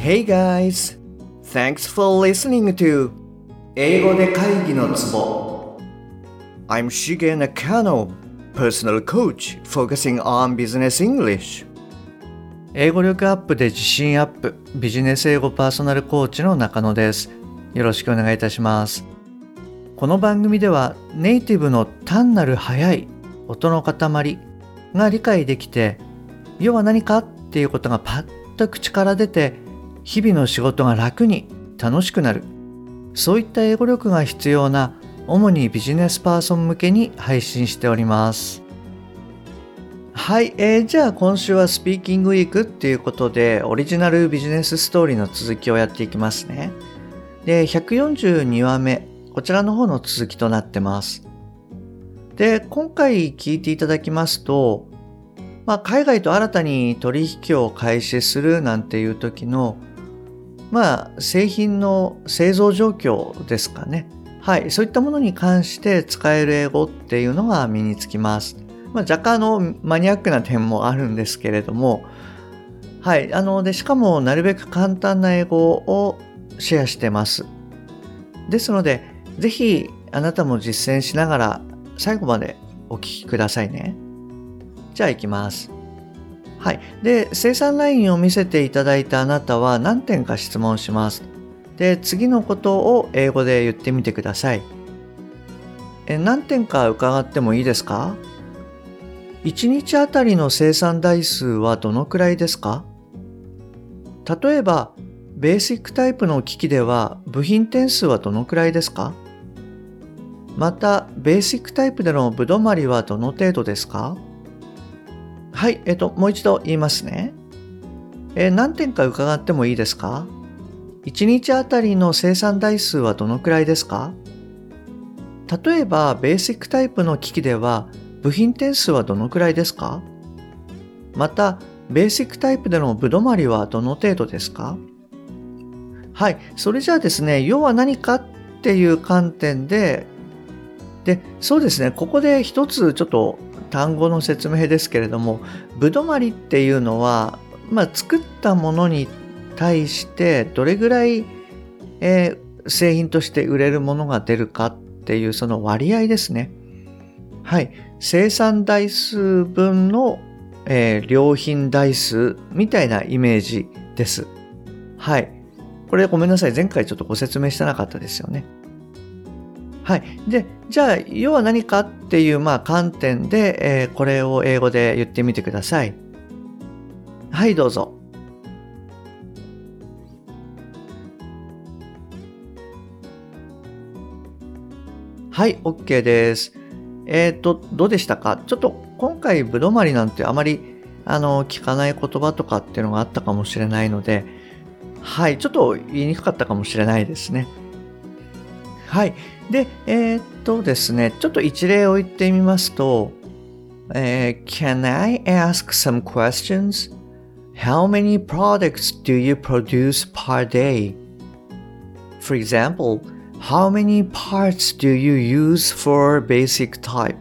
Hey guys! Thanks for listening to 英語で会議のツボ I'm Shige Nakano, personal coach focusing on business English 英語力アップで自信アップ、ビジネス英語パーソナルコーチの中野です。よろしくお願いいたします。この番組ではネイティブの単なる速い音の塊が理解できて、要は何かっていうことがパッと口から出て、日々の仕事が楽に楽しくなる、そういった英語力が必要な主にビジネスパーソン向けに配信しております。はい、じゃあ今週はスピーキングウィークっていうことでオリジナルビジネスストーリーの続きをやっていきますね。で、142話目、こちらの方の続きとなってます。で、今回聞いていただきますと、海外と新たに取引を開始するなんていう時の製品の製造状況ですかね。はい、そういったものに関して使える英語っていうのが身につきます。若干マニアックな点もあるんですけれども、はい、でしかもなるべく簡単な英語をシェアしてます。ですので、ぜひあなたも実践しながら最後までお聞きくださいね。じゃあ行きます。はい。で、生産ラインを見せていただいたあなたは何点か質問します。で、次のことを英語で言ってみてください。何点か伺ってもいいですか？1日あたりの生産台数はどのくらいですか？例えば、ベーシックタイプの機器では部品点数はどのくらいですか？また、ベーシックタイプでのぶどまりはどの程度ですか？はい、もう一度言いますね。何点か伺ってもいいですか？1日あたりの生産台数はどのくらいですか？例えば、ベーシックタイプの機器では部品点数はどのくらいですか？また、ベーシックタイプでのぶどまりはどの程度ですか？はい、それじゃあですね、要は何かっていう観点で、そうですね、ここで一つちょっと単語の説明ですけれども、ぶどまりっていうのは、作ったものに対してどれぐらい、製品として売れるものが出るかっていうその割合ですね。はい、生産台数分の、良品台数みたいなイメージです。はい、これごめんなさい、前回ちょっとご説明してなかったですよね。はい。で、じゃあ、要は何かっていう、観点で、これを英語で言ってみてください。はい、どうぞ。はい、OK です。どうでしたか？ちょっと今回、ぶどまりなんてあまり、聞かない言葉とかっていうのがあったかもしれないので、はい、ちょっと言いにくかったかもしれないですね。はい。で、ですね、ちょっと一例を言ってみますと、Can I ask some questions? How many products do you produce per day? For example, how many parts do you use for basic type?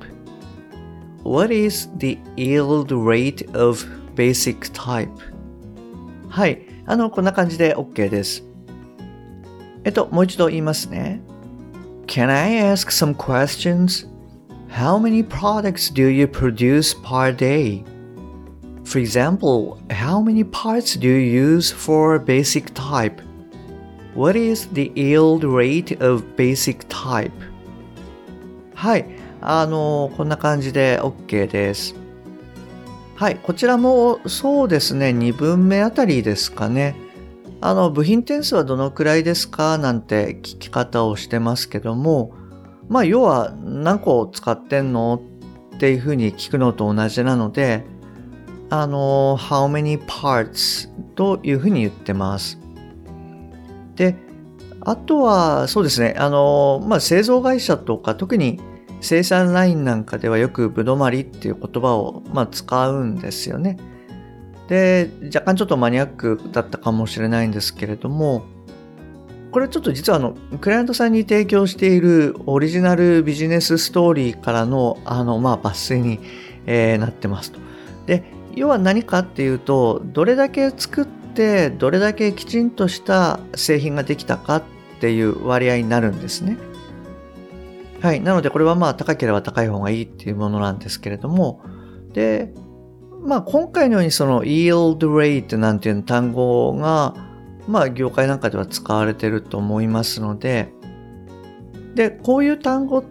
What is the yield rate of basic type? はい。こんな感じで OK です。もう一度言いますね。Can I ask some questions? How many products do you produce per day? For example, how many parts do you use for basic type? What is the yield rate of basic type? はい、こんな感じで OK です。はい、こちらもそうですね、2分目あたりですかね。部品点数はどのくらいですかなんて聞き方をしてますけども、要は何個使ってんのっていうふうに聞くのと同じなので、how many parts というふうに言ってます。で、あとはそうですね、製造会社とか特に生産ラインなんかではよくぶどまりっていう言葉を使うんですよね。で、若干ちょっとマニアックだったかもしれないんですけれども、これちょっと実はクライアントさんに提供しているオリジナルビジネスストーリーからの抜粋に、なってますと。で、要は何かっていうと、どれだけ作っってどれだけきちんとした製品ができたかっていう割合になるんですね。はい。なのでこれは高ければ高い方がいいっていうものなんですけれども、で、今回のようにその yield rate なんていう単語が、業界なんかでは使われていると思いますので、で、こういう単語って、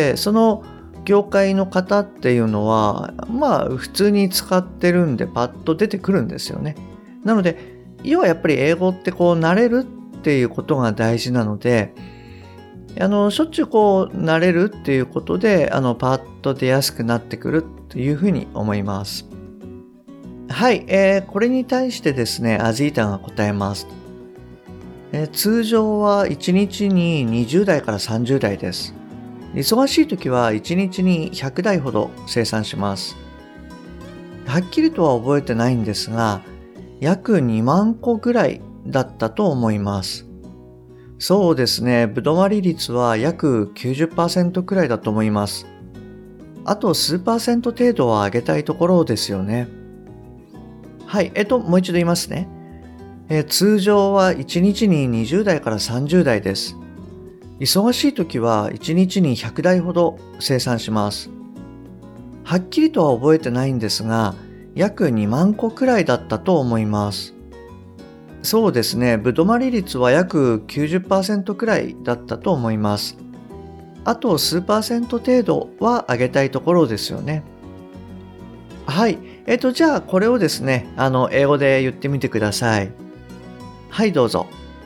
その業界の方っていうのは、普通に使ってるんでパッと出てくるんですよね。なので、要はやっぱり英語って慣れるっていうことが大事なので、しょっちゅう慣れるっていうことで、パッと出やすくなってくるというふうに思います。はい、これに対してですね、アジータが答えます。通常は1日に20台から30台です。忙しい時は1日に100台ほど生産します。はっきりとは覚えてないんですが、約2万個ぐらいだったと思います。そうですね、ぶどまり率は約 90% くらいだと思います。あと数%程度は上げたいところですよね。はい、もう一度言いますね。通常は1日に20台から30台です。忙しい時は1日に100台ほど生産します。はっきりとは覚えてないんですが、約2万個くらいだったと思います。そうですね、ぶどまり率は約 90% くらいだったと思います。あと数%程度は上げたいところですよね。はい。じゃあこれをですね、英語で言ってみてください。はい、どうぞ。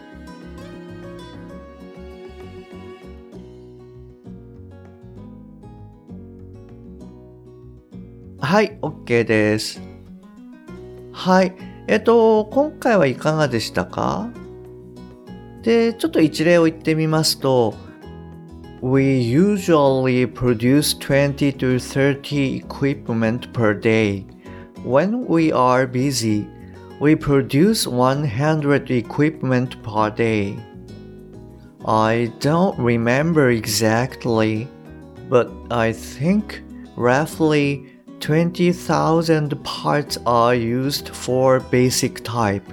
はい、OK です。はい。今回はいかがでしたか？で、ちょっと一例を言ってみますと、We usually produce 20 to 30 equipment per day. When we are busy, we produce 100 equipment per day. I don't remember exactly, but I think roughly 20,000 parts are used for basic type.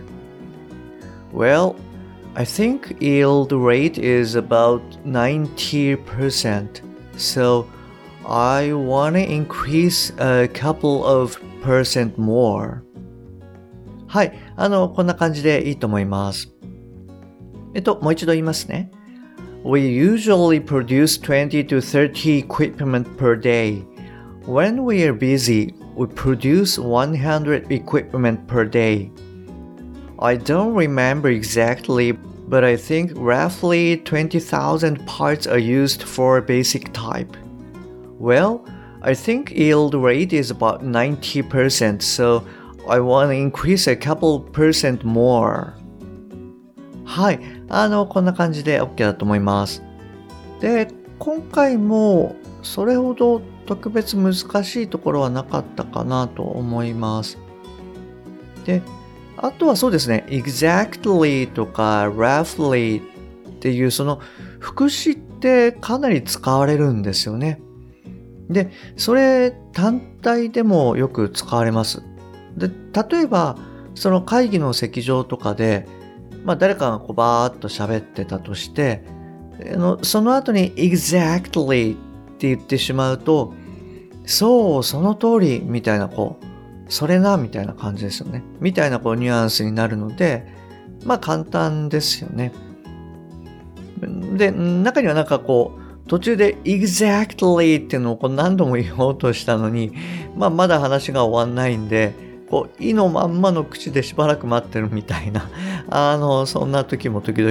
Well, I think yield rate is about 90%, so I want to increase a couple of percent more. はい、こんな感じでいいと思います。もう一度言いますね。We usually produce 20 to 30 equipment per day. When we are busy, we produce 100 equipment per day. I don't remember exactly, but I think roughly 20,000 parts are used for basic type. Well, I think yield rate is about 90%, so I want to increase a couple percent more. はい、こんな感じで OK だと思います。で、今回もそれほど特別難しいところはなかったかなと思います。で、あとはそうですね、exactly とか roughly っていうその副詞ってかなり使われるんですよね。で、それ単体でもよく使われます。で、例えばその会議の席上とかで、誰かがバーッと喋ってたとして、その後に exactly って言ってしまうと、そう、その通りみたいなそれなみたいな感じですよね。みたいなニュアンスになるので、簡単ですよね。で、中には途中で exactly っていうのを何度も言おうとしたのに、まだ話が終わんないんで、意のまんまの口でしばらく待ってるみたいな、そんな時も時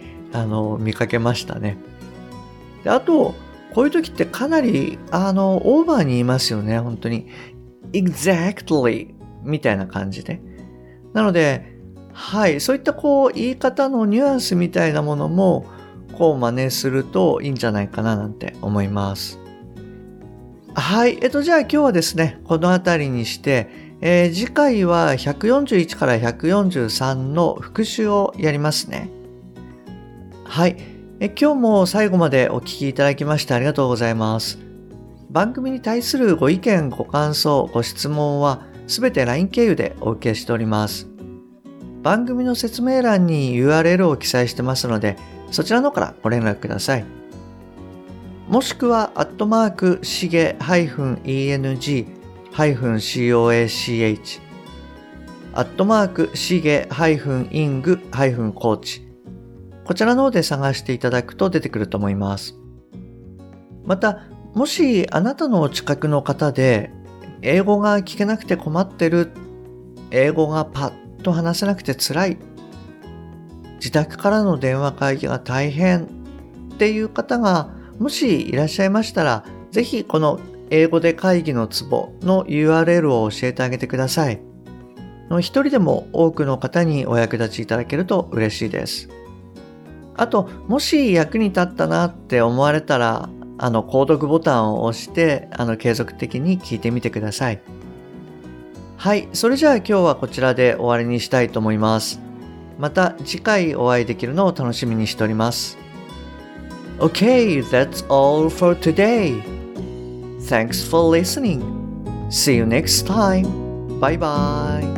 々、見かけましたね。で、あと、こういう時ってかなり、オーバーに言いますよね、本当に。exactly みたいな感じで。なので、はい、そういった言い方のニュアンスみたいなものも、真似するといいんじゃないかななんて思います。はい、じゃあ今日はですね、このあたりにして、次回は141から143の復習をやりますね。はい、今日も最後までお聞きいただきましてありがとうございます。番組に対するご意見、ご感想、ご質問はすべて LINE 経由でお受けしております。 番組の説明欄に URL を記載してますので、そちらの方からご連絡ください。もしくは、しげ-eng-coach、しげ-ing-coach、こちらの方で探していただくと出てくると思います。また、もしあなたのお近くの方で、英語が聞けなくて困ってる、英語がパッと話せなくて辛い、自宅からの電話会議が大変っていう方がもしいらっしゃいましたら、ぜひこの英語で会議のツボの URL を教えてあげてください。一人でも多くの方にお役立ちいただけると嬉しいです。あと、もし役に立ったなって思われたら、購読ボタンを押して、継続的に聞いてみてください。はい、それじゃあ今日はこちらで終わりにしたいと思います。また次回お会いできるのを楽しみにしております。Okay, that's all for today. Thanks for listening. See you next time. Bye bye.